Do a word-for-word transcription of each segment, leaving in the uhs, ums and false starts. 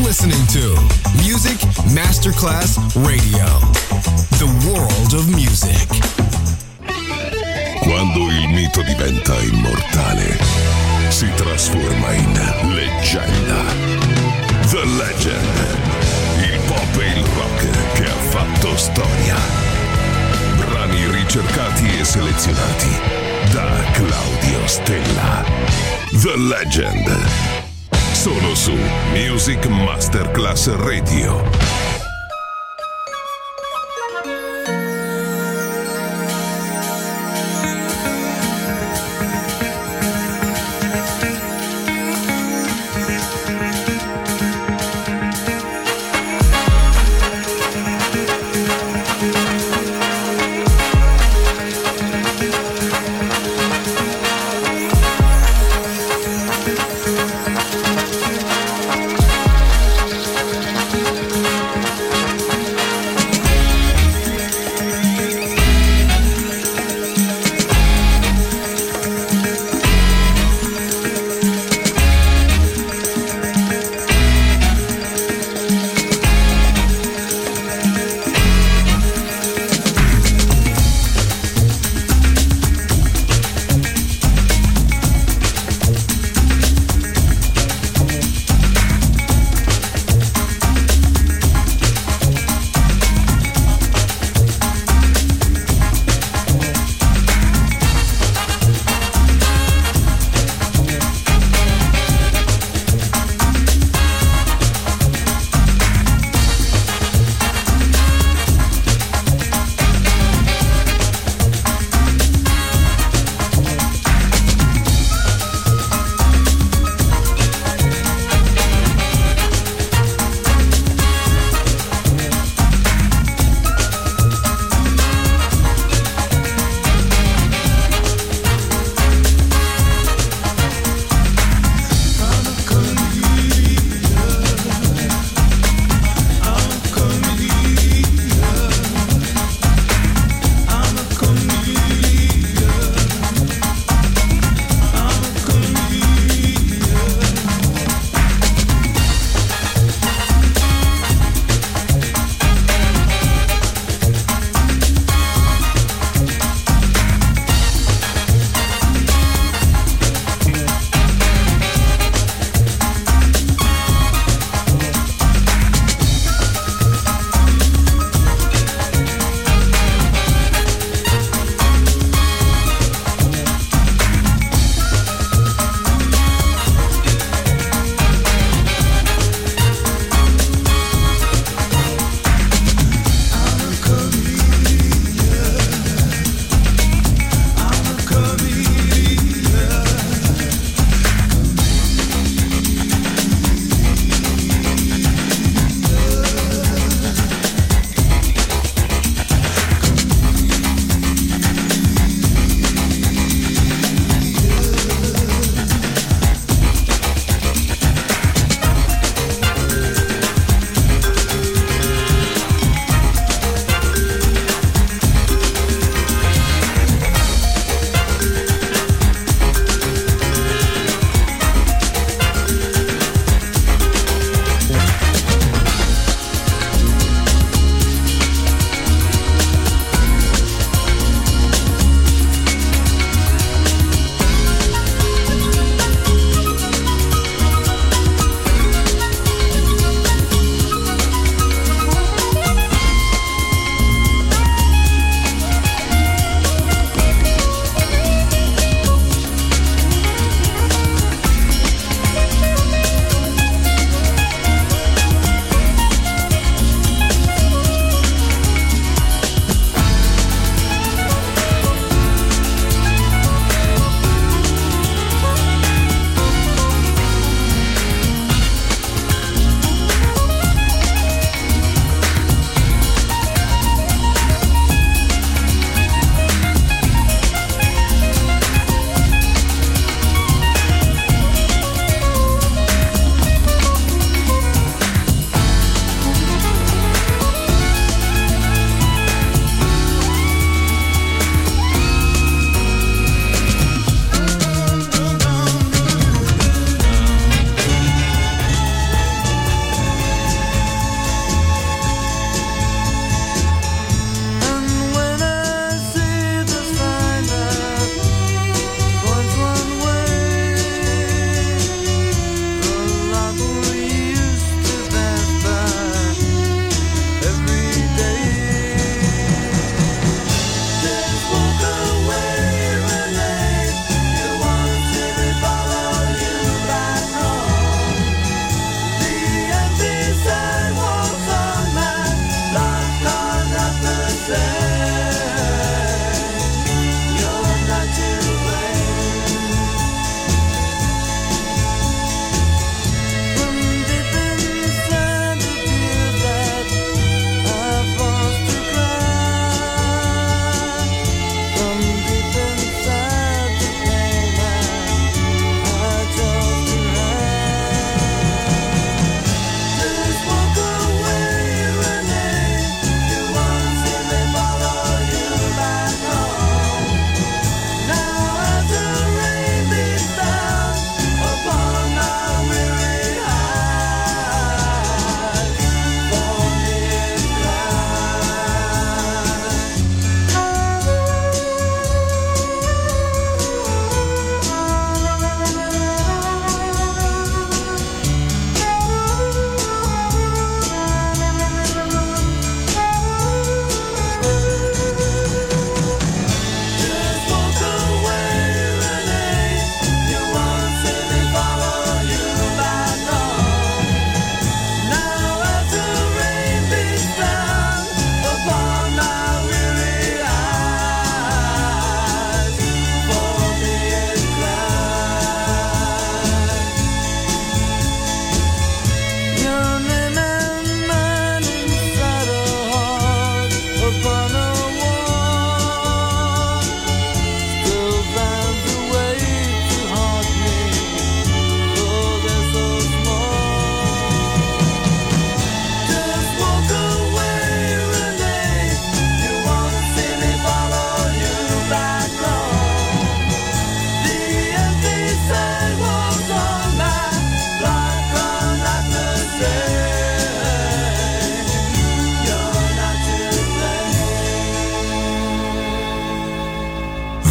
listening to Music Masterclass Radio, the world of music. Quando il mito diventa immortale, si trasforma in leggenda. The Legend, il pop e il rock che ha fatto storia. Brani ricercati e selezionati da Claudio Stella. The Legend, solo su Music Masterclass Radio.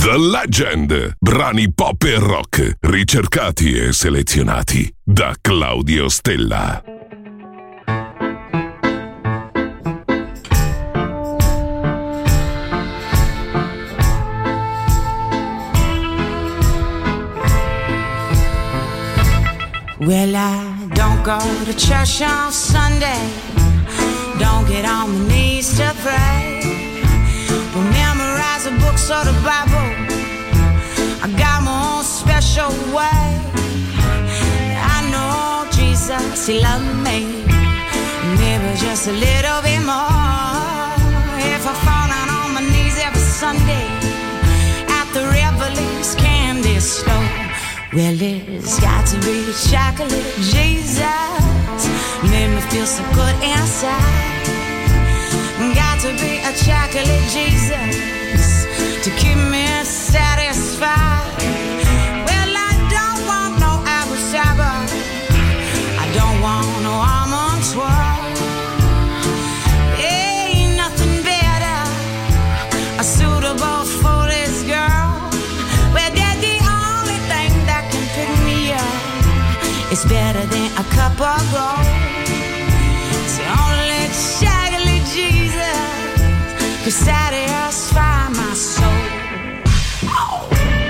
The Legend, brani pop e rock, ricercati e selezionati da Claudio Stella. Well, I don't go to church on Sunday, don't get on my knees to pray, don't memorize the books or the Bible, I got my own special way. I know Jesus, He loved me, maybe just a little bit more. If I fall down on my knees every Sunday at the Revelings candy store, well, it's got to be chocolate Jesus, made me feel so good inside. Got to be a chocolate Jesus to keep me satisfied. Well, I don't want no apple cider, I don't want no almond swirl. Ain't nothing better, a suitable for this girl. Well, they're the only thing that can pick me up. It's better than a cup of gold. It's the only chocolate Jesus could satisfy my soul. Oh.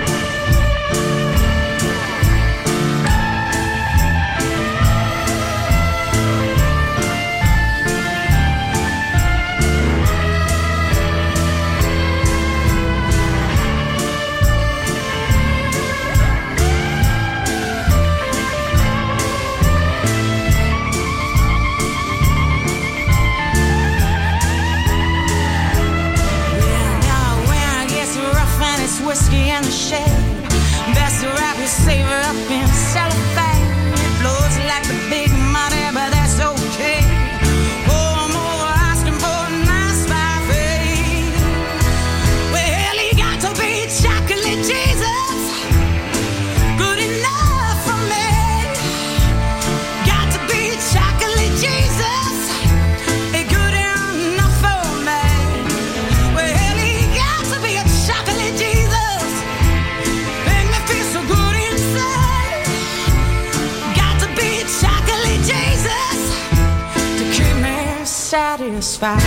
Whiskey in the shade, best to wrap your savor up in cellophane. It blows like the big money, but that's okay. Oh, I'm over asking for a nice buffet. Well, he got to be chocolate Jesus, good enough for me. Got to be chocolate Jesus, good enough for me. Well, he got to be a chocolate Jesus. Satisfied.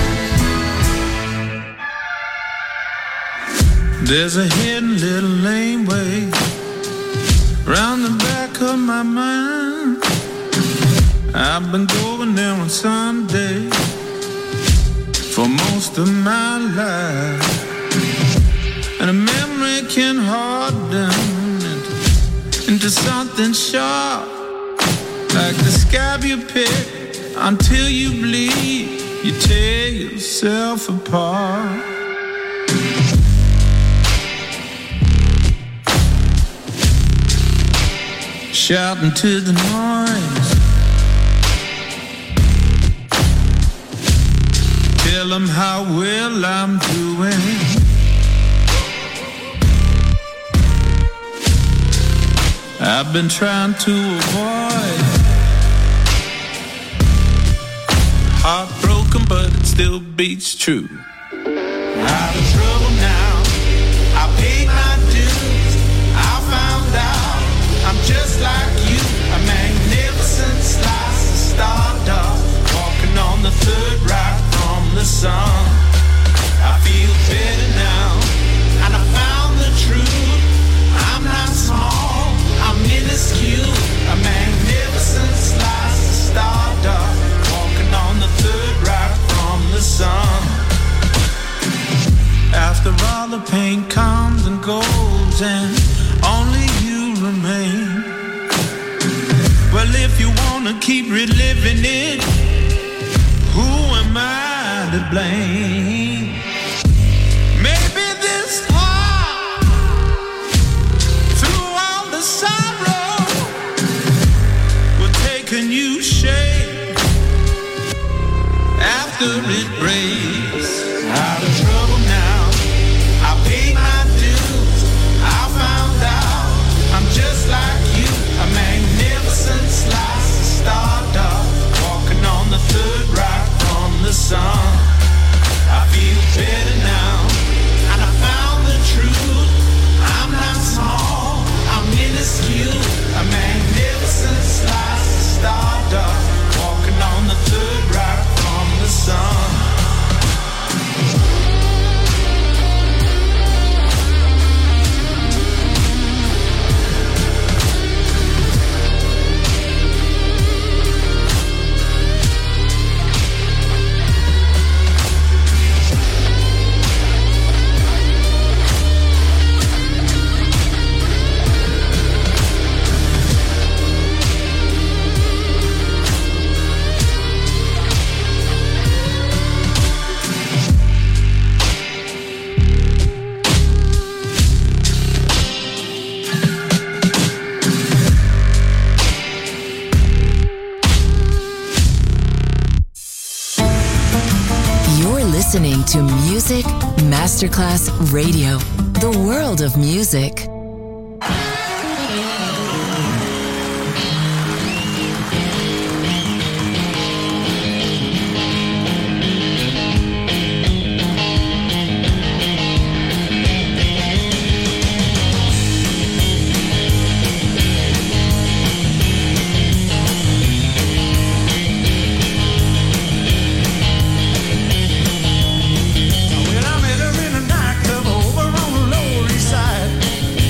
There's a hidden little laneway round the back of my mind. I've been going there on Sunday for most of my life, and a memory can harden into, into something sharp, like the scab you pick. Until you bleed, you tear yourself apart. Shouting to the noise, tell them how well I'm doing. I've been trying to avoid heartbroken, but it still beats true. Out of trouble now, I paid my dues. I found out I'm just like you, a magnificent slice of stardust, walking on the third right from the sun. I feel better now, and I found the truth. I'm not small, I'm minuscule, a magnificent slice of stardust, on the third right from the sun. After all the pain comes and goes and only you remain. Well, if you wanna keep reliving it, who am I to blame? Maybe this heart, through all the sorrow, will take a new shape after it breaks. Out of trouble now, I paid my dues. I found out I'm just like you, a magnificent slice of stardust, walking on the third right from the sun. I feel better now, and I found the truth. listening to Music Masterclass Radio, the world of music. Well, I met her in a nightclub over on the Lower East Side.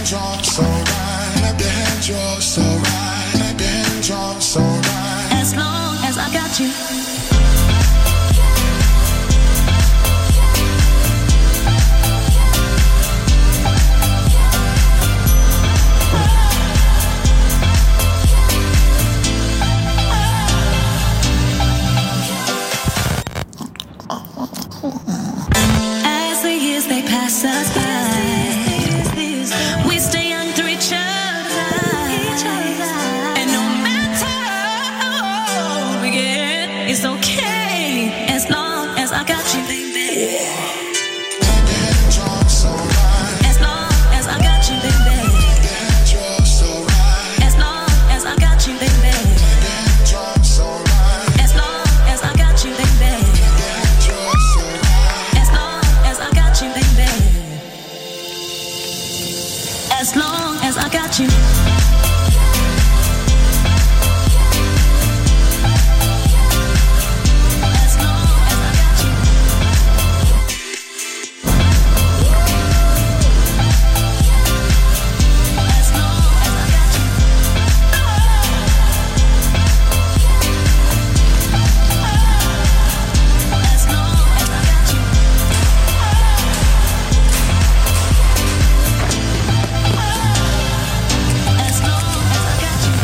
hands, you're so right. Clap your hands, you're so right. Clap your hands, you're so right. As long as I got you. As the years they pass us by, we stay young through each other's eyes. And no matter how old we get, it's okay as long as I got you, baby. As long as I got you, baby. As long as I got you, baby. As long as I got you, baby. As long as I got you, baby. As long as I got you. As long as I got you. As long as I got you. As long as I got you. As long as I got you.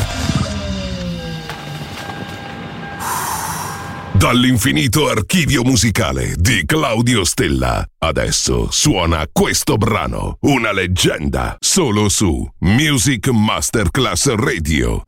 Dall'infinito archivio musicale di Claudio Stella. Adesso suona questo brano, una leggenda, solo su Music Masterclass Radio.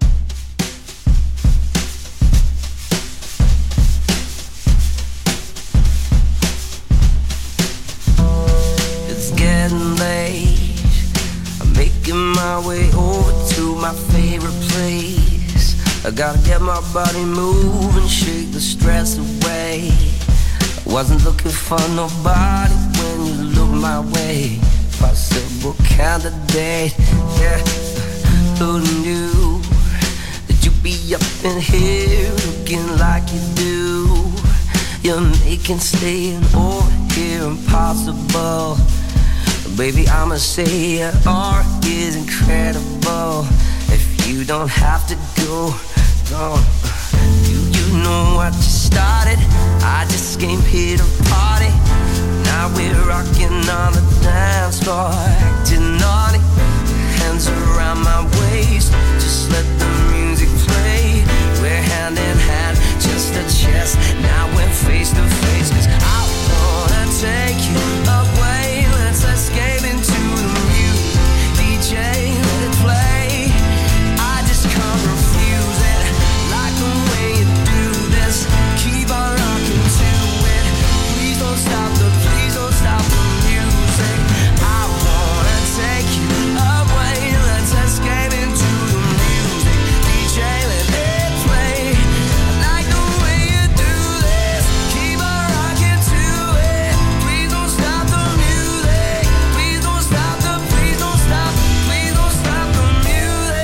It's getting late. I'm making my way over to my favorite place. I gotta get my body moving, shake the stress away. I wasn't looking for nobody when you looked my way. Possible candidate, yeah. Who knew that you'd be up in here looking like you do? You're making staying over here impossible. Baby, I'ma say your art is incredible. If you don't have to go, go. Do you know what you started? I just came here to party. Now we're rocking on the dance floor, acting naughty. Hands around my waist, just let the music play. We're hand in hand, chest to chest. Now we're face to face. 'Cause I wanna take you away. Let's escape into the music. D J, let it play. I just can't refuse it. Like the way you do this. Keep on rocking to it. Please don't stop the, please don't stop the music. I wanna take you away. Let's escape into the music. D J, let it play. I like the way you do this. Keep on rocking to it. Please don't stop the music. Please don't stop the, please don't stop, please don't stop the music.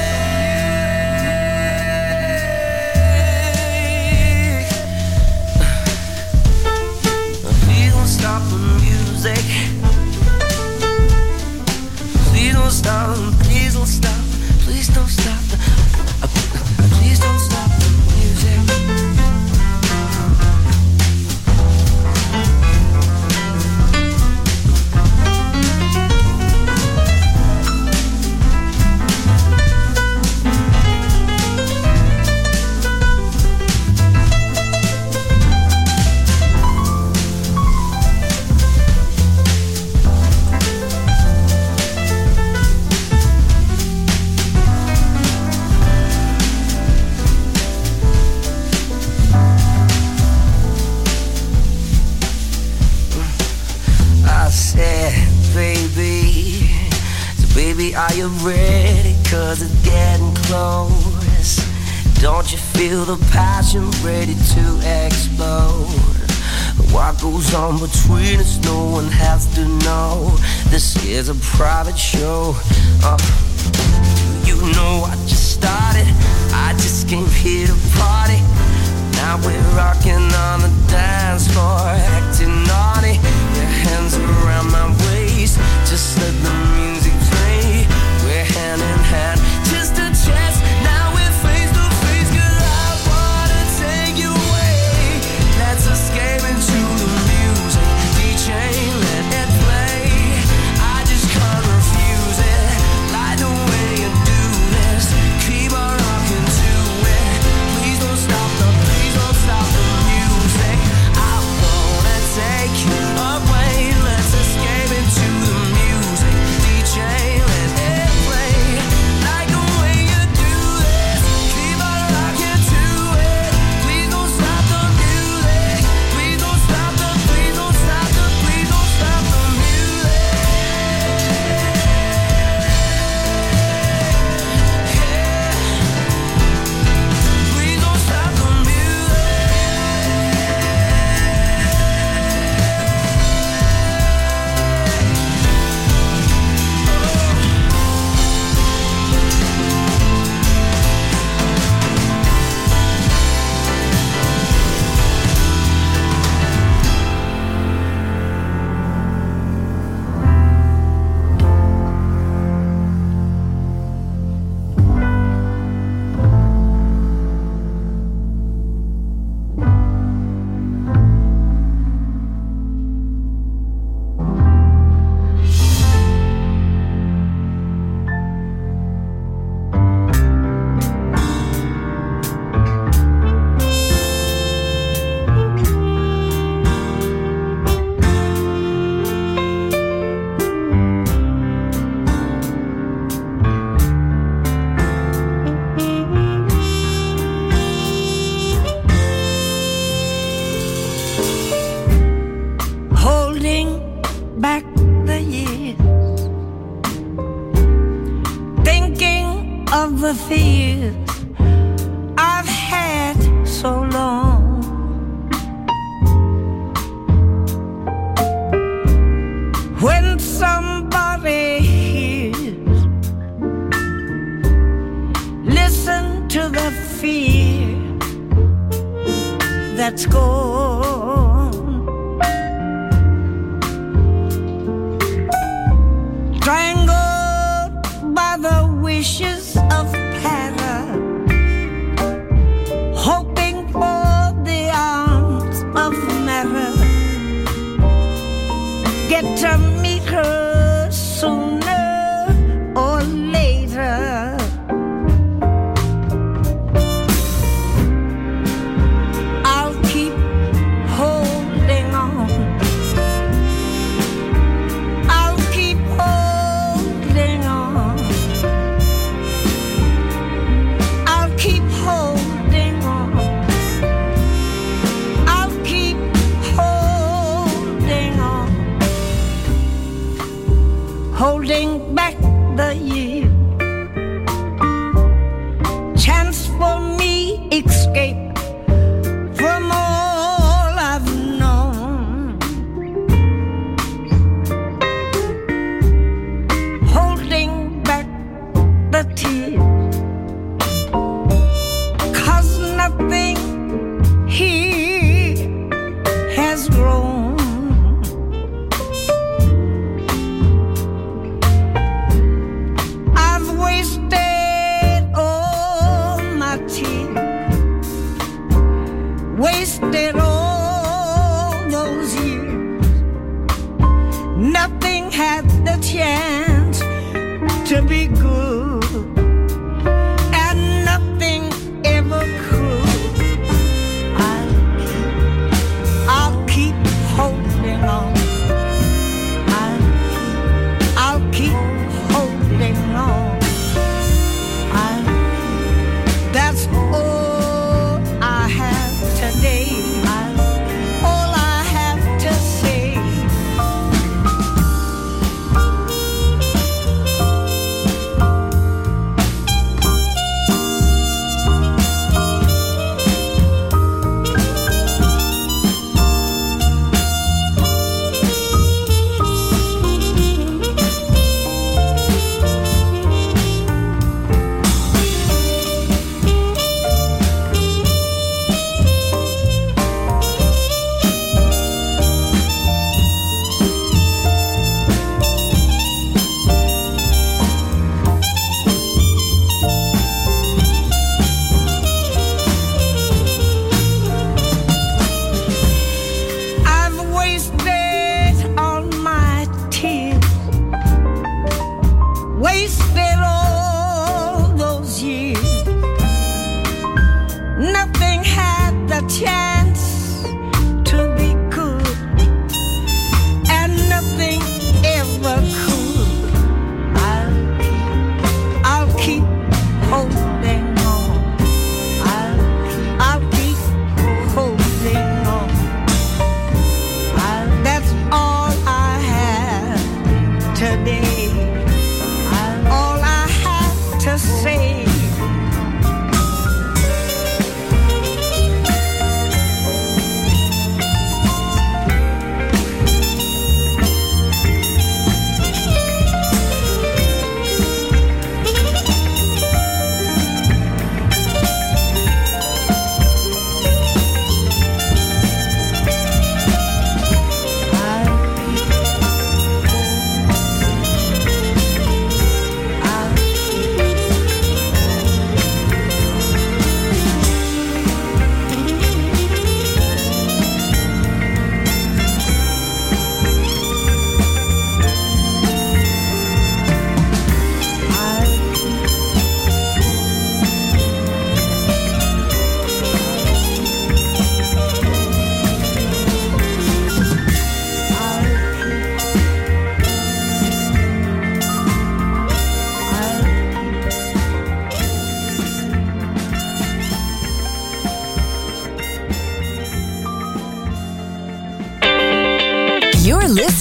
Please don't stop the music. Please don't stop, please don't stop, please don't stop the, please don't stop the music. I said, baby, so baby, are you ready? 'Cause it's getting close. Don't you feel the passion ready to explode? What goes on between us, no one has to know. This is a private show. Uh, you know I just started. I just came here to party. Now we're rocking on the dance floor, acting naughty. Your hands around my waist, just let the music play. We're back the years, thinking of the fears I've had so long. When somebody hears, listen to the fear that's gone. Strangled by the wishes of terror, hoping for the arms of matter. Get to meet her sooner or later. I'll keep holding on. I'll keep holding on. I'll keep holding on. I'll keep holding on. Holding back the year, chance for me escape from all I've known. Holding back the tears, 'cause nothing here has grown. Wasted all those years. Nothing had the chance to be good, and nothing ever could. I'll keep, I'll keep holding on. I'll, I'll keep holding on. I'll, that's all today, all I have to say.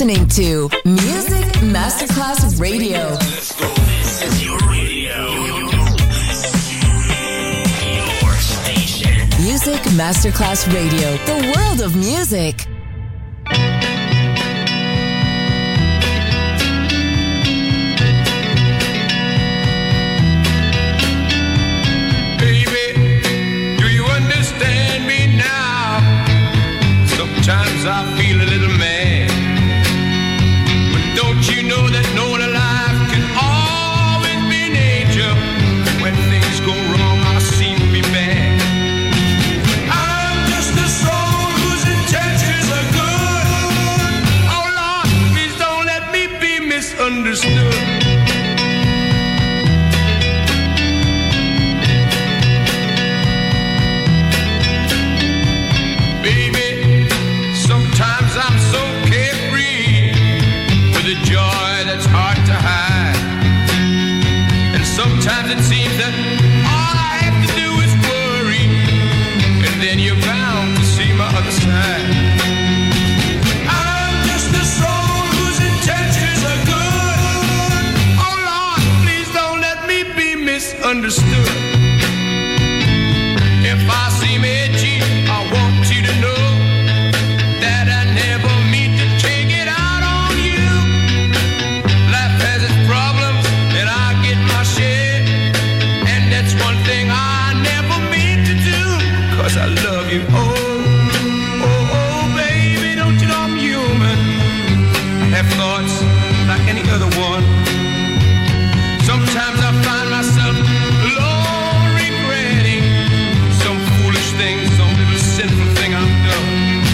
listening to Music Masterclass Radio. Let's go. This is your radio. Your station. Music Masterclass Radio. The world of music. Sometimes I feel a little mad, but don't you know that no one alive can always be an angel? When things go wrong, I seem to be bad. I'm just a soul whose intentions are good. Oh Lord, please don't let me be misunderstood. I'm so carefree with a joy that's hard to hide. And sometimes it seems that all I have to do is worry, and then you're bound to see my other side. I'm just a soul whose intentions are good. Oh Lord, please don't let me be misunderstood. If I seem edgy, I want you to know that I never mean to take it out on you. Life has its problems and I get my share, and that's one thing I never mean to do, 'cause I love you. Oh, oh, oh, baby, don't you know I'm human? I have thoughts like any other one. Sometimes I find myself alone regretting some foolish thing, some little sinful thing I've done.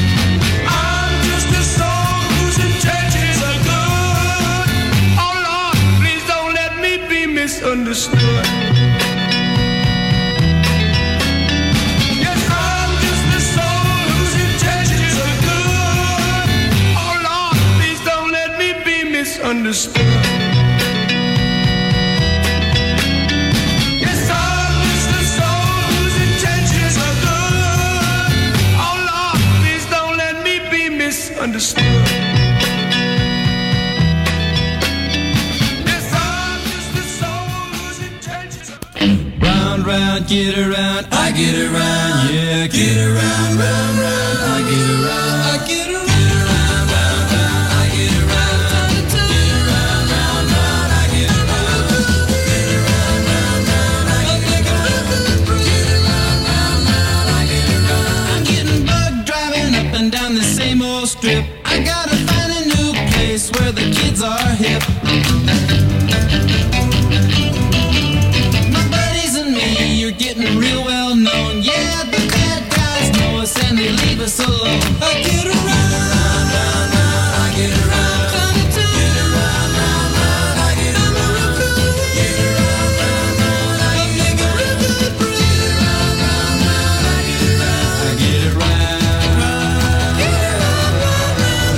Misunderstood. Yes, I'm just a soul whose intentions are good. Oh Lord, please don't let me be misunderstood. Yes, I'm just a soul whose intentions are good. Oh Lord, please don't let me be misunderstood. Round, get around, I get around, yeah, get around, round, round, I get around, I get around, get around, round, round, I get around, get around, round, round, I get around, get around, round, round, I get around, get around, round, round, I get around. I'm getting bugged driving up and down the same old strip. I gotta find a new place where the kids are hip. You're getting real well known. Yeah, the bad guys know us and they leave us alone. I get around, round, round, round, I get around. Get around, round, round, I get around. Get around, round, round, I get around. Get around, round, round, I get around. I get around. Get around, round, round.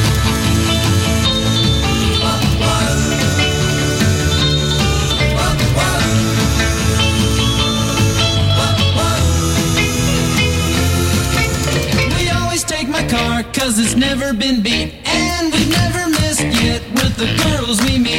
Car, 'cause it's never been beat, and we've never missed yet with the girls we meet.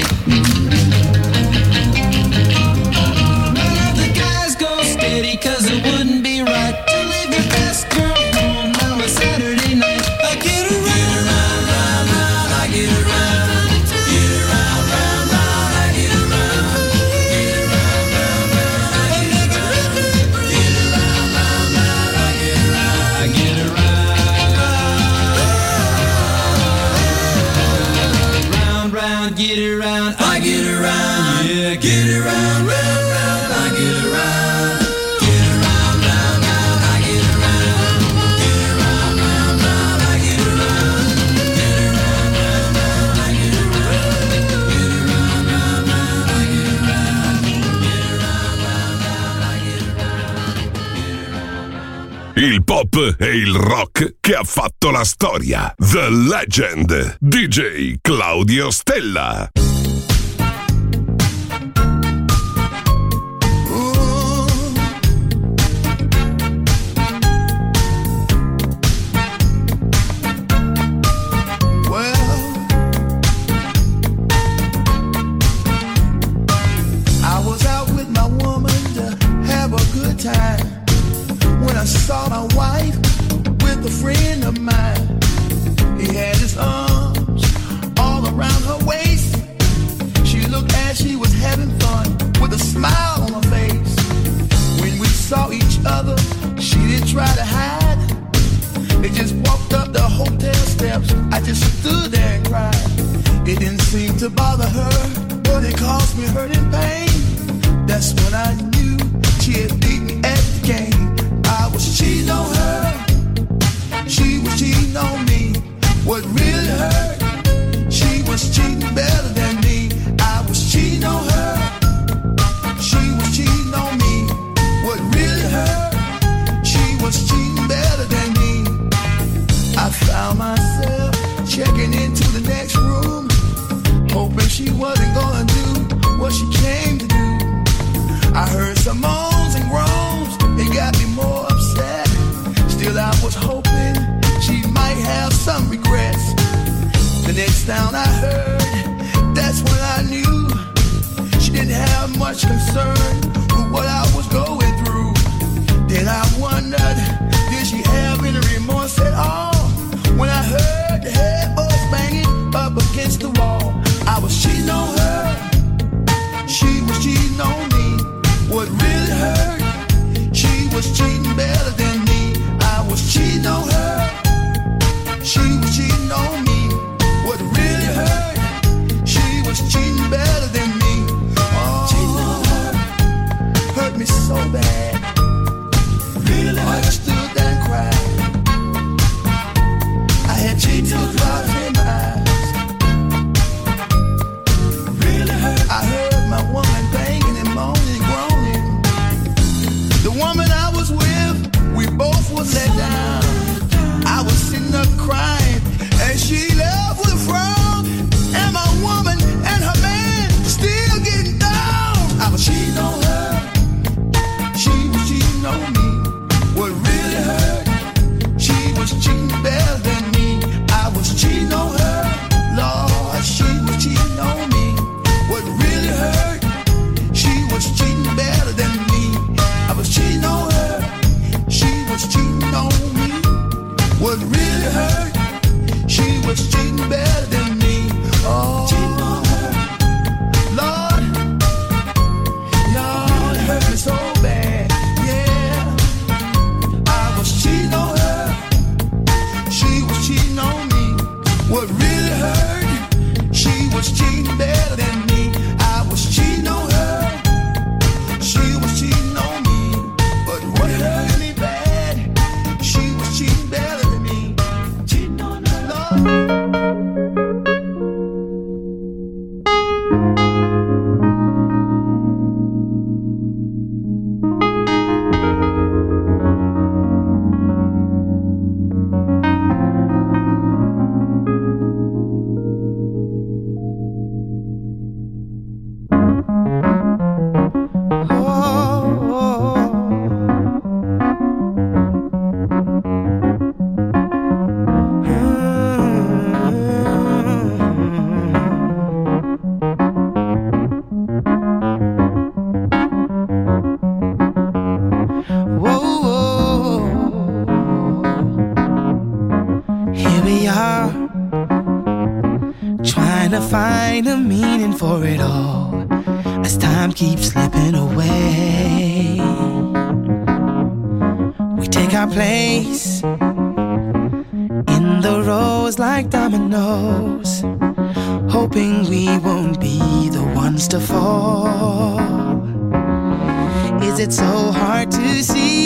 None of the guys go steady, 'cause it wouldn't be right to leave your best girl home on a Saturday night. I get around, round, round, round, I get around. Get around, round, round, I get around. Get around, round, round, I get around. Get around, round, round, I get around. I get around. Get around, I get around, yeah, get around, round, round, I get around. Get around, round, round, I get around. Get around, round, round, I get around. Get around, round, round, I get around. Get around, round, round, I get around. Get around, round, round, I get around. Il pop e il rock che ha fatto la storia. The Legend. D J Claudio Stella. Well, to bother her, but it caused me hurt and pain. That's when I knew she had beat me at the game. I was cheating on her, she was cheating on me. What really hurt, she was cheating better than me. I was cheating on her, she was cheating on me. What really hurt, she was cheating better than me. I found myself checking into the next room, hoping she wasn't gonna do what she came to do. I heard some moans and groans, it got me more upset. Still I was hoping she might have some regrets. The next sound I heard, that's when I knew she didn't have much concern with what I was going through. Then I wondered, did she have any remorse at all? When I heard the headboards banging up against the wall, I was cheating on her, she was cheating on me. What really hurt, she was cheating better than me. I was cheating on her, she was cheating on me. What really hurt, she was cheating better than me. Oh, cheating on her hurt me so bad. Really hurt. I just stood there and cried. I had tears drops in my eyes. Really hurt. I heard my woman banging and moaning and groaning. The woman I was with, we both was let down. I was sitting up crying, and she left with a frown. And my woman and her man still getting down. I was cheating on her, she was cheating on me. What really hurt, she was cheating better than me. I was cheating on her, Lord, she was cheating on me. What really hurt, she was cheating better than me. I was cheating on her, she was cheating on me. What really hurt, she was cheating better than me. Oh, cheating on her, Lord, Lord, it hurt me so bad. Yeah, I was cheating on her, she was cheating on me. What really hurt, she was cheating better than me. I was cheating on her, she was cheating on me. But what hurt me bad, she was cheating better than me. Cheating on her, Lord. Here we are, trying to find a meaning for it all, as time keeps slipping away. We take our place in the rows like dominoes, hoping we won't be the ones to fall. Is it so hard to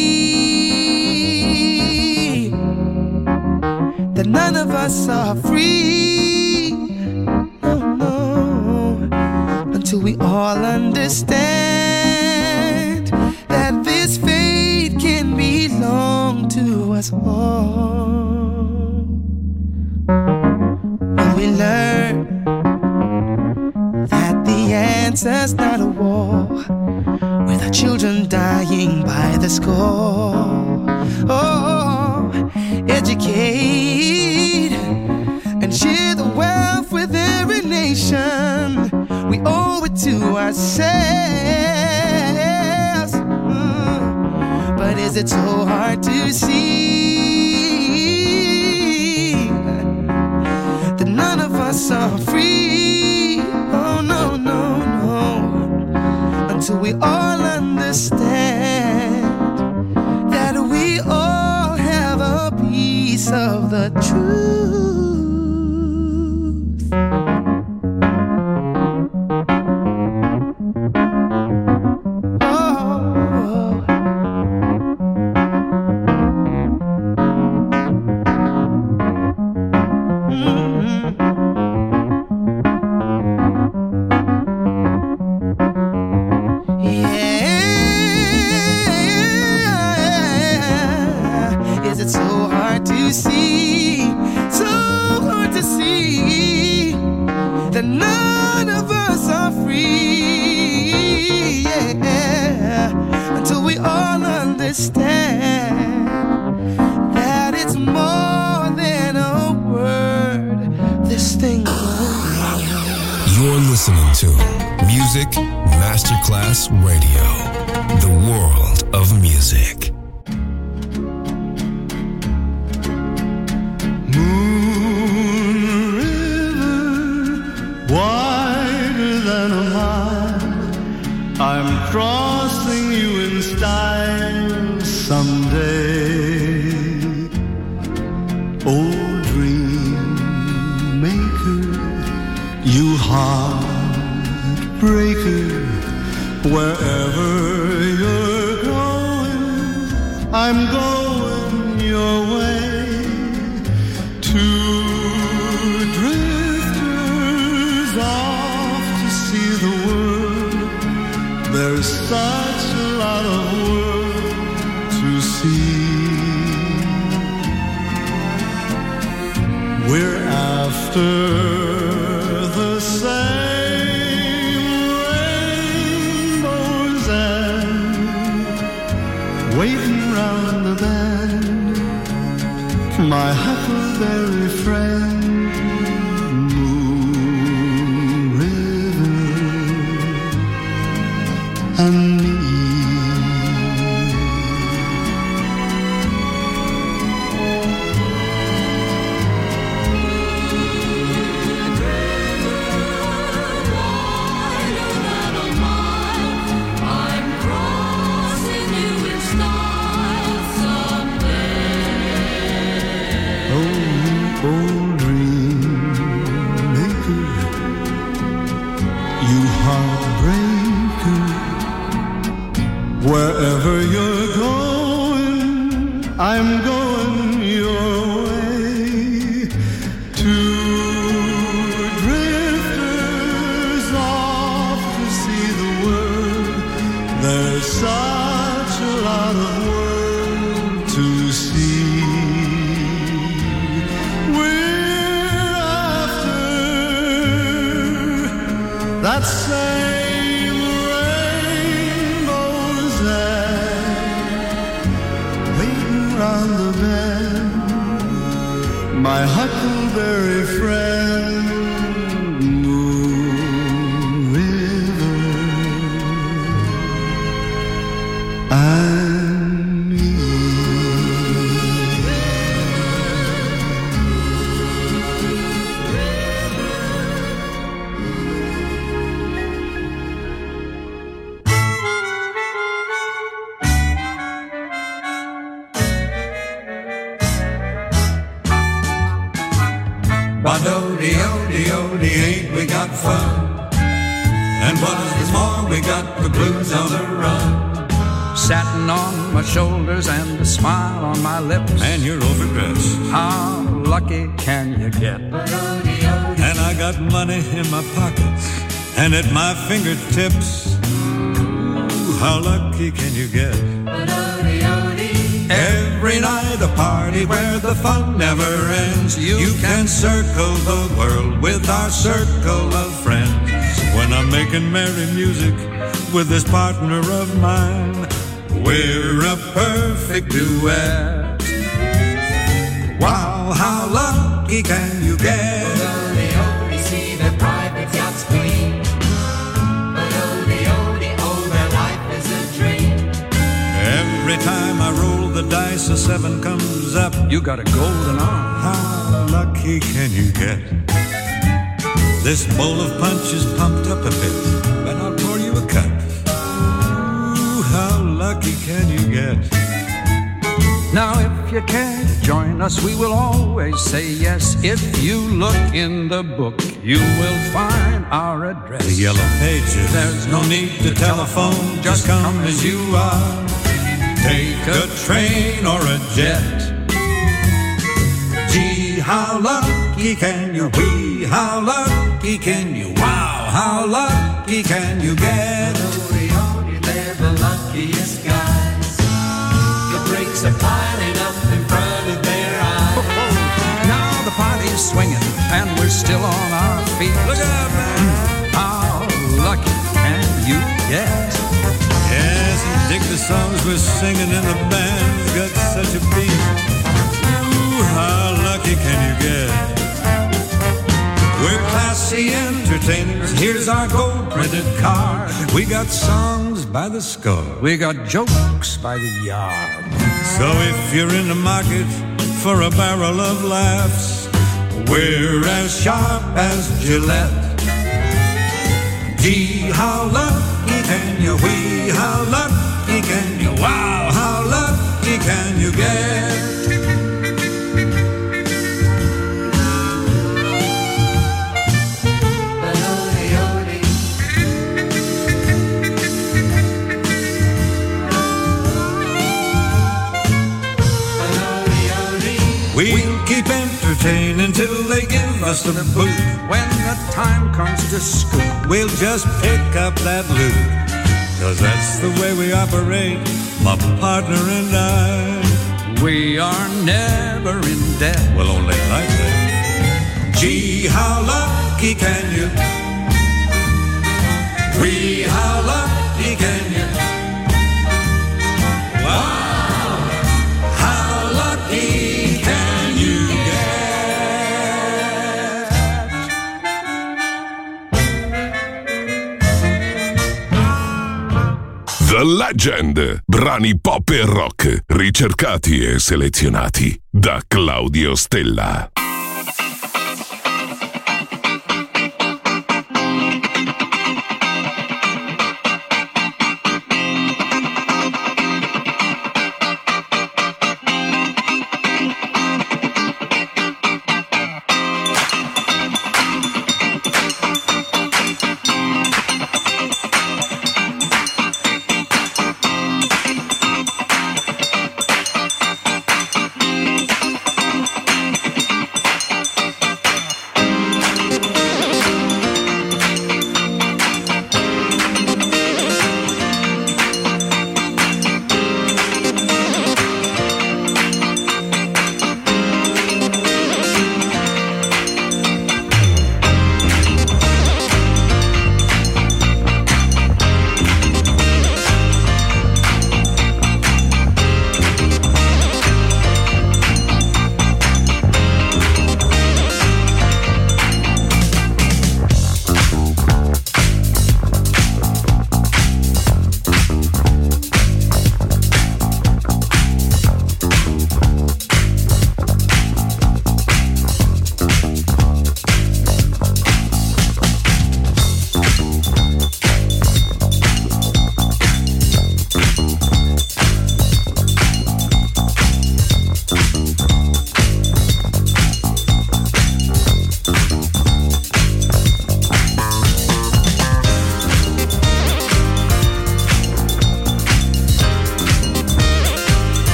see that none of us are free? No, no, until we all understand that this fate can belong to us all. When we learn that the answer's not a war, with our children dying by the score. Oh, educate and share the wealth with every nation. We owe it to ourselves. Mm. But is it so hard to see that none of us are free? Oh, no, no, no. Until we all understand that we all have a piece of the truth. that none of us are free, yeah, until we all understand that it's more than a word. This thing goes. You're listening to Music Masterclass Radio, the world of music. Wider than a mile, I'm crossing you in style someday. Oh, dream maker, you heartbreaker, wherever you're going, I'm going your way. Two drifters off to see the world. There's such a lot of world to see. We're after the same rainbows and waiting round the bend, my huckleberry friend, Moon River, and me. Wherever you're going, I'm going your way. Two drifters off to see the world. There's such a lot of world to see. We're after that same round the bend, my huckleberry friend, Moon River, and me. Ba-do-de-o-de-o-de, ain't we got fun? And what is more, we got the blues on the run. Satin on my shoulders and a smile on my lips. And you're overdressed. How lucky can you get? And I got money in my pockets and at my fingertips. Ooh, how lucky can you get? Every night a party where the fun never ends. You, you can circle the world with our circle of friends. When I'm making merry music with this partner of mine, we're a perfect duet. Wow, how lucky can you get? Odie-odie, see the private yachts gleam. Odie-odie, oh, their life is a dream. Every time I roll the dice, a seven comes up. You got a golden arm. How lucky can you get? This bowl of punch is pumped up a bit, but I'll pour you a cup. Ooh, how lucky can you get? Now if you care to join us, we will always say yes. If you look in the book, you will find our address. The yellow pages. There's no need to telephone, just come as you are. Take a train or a jet. Gee, how lucky can you be? How lucky can you? Wow, how lucky can you get? Odie-odie, they're the luckiest guys. The brakes are piling up in front of their eyes. Now the party's swinging and we're we're still on our feet. Look out, man! How lucky can you get? Yes, and dig the songs we're singing in the band's got such a beat. Ooh, how lucky can you get? We're classy entertainers. Here's our gold printed card. We got songs by the score. We got jokes by the yard. So if you're in the market for a barrel of laughs, we're as sharp as Gillette. Gee, how lucky can you? Wee, how lucky can you? Wow, how lucky can you get? We'll keep entertaining till they give us the boot. When the time comes to scoop, we'll just pick up that loot. Cause that's the way we operate, my partner and I. We are never in debt. Well, only like that. Gee, how lucky can you? Wee, how lucky can you? Wow, how lucky can you get? The Legend, brani pop e rock, ricercati e selezionati da Claudio Stella.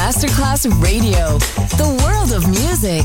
Masterclass Radio, the world of music.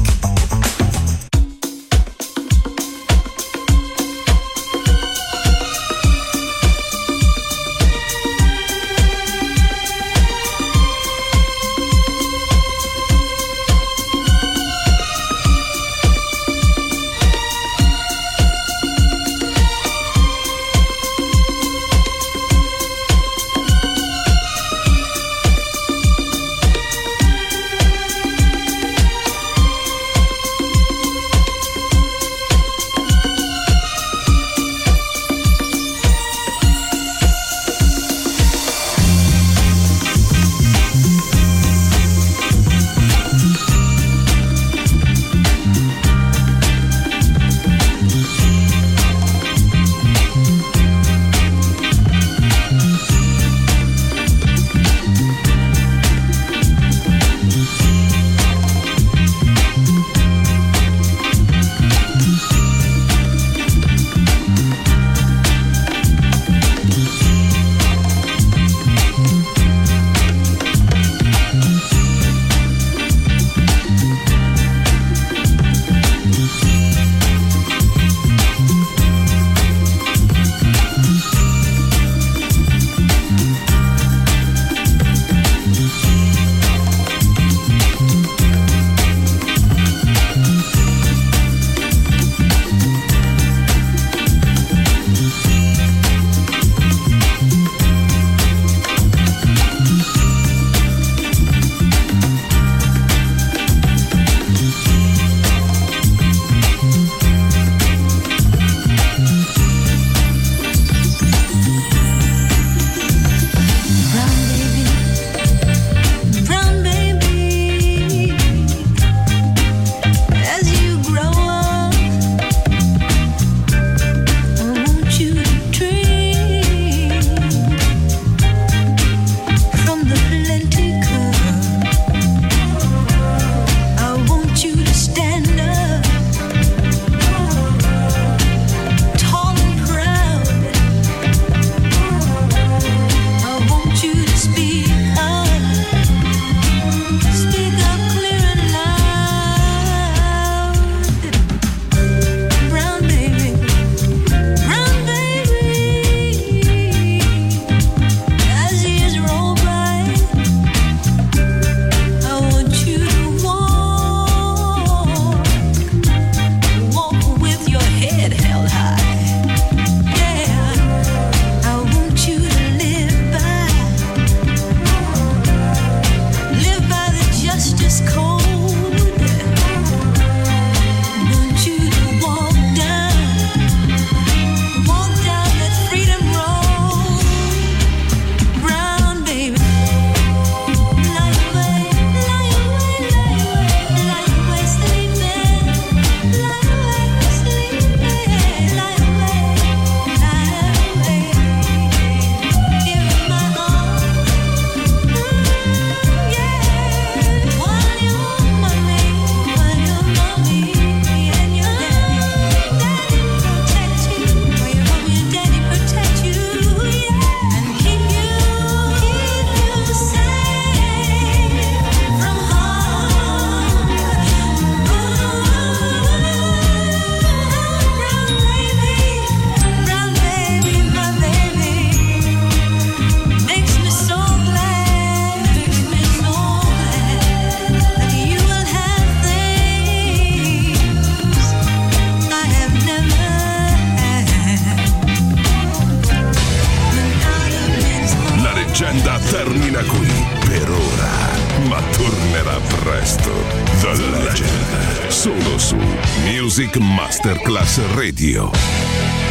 leggenda termina qui per ora, ma tornerà presto. The Legend, solo su Music Masterclass Radio.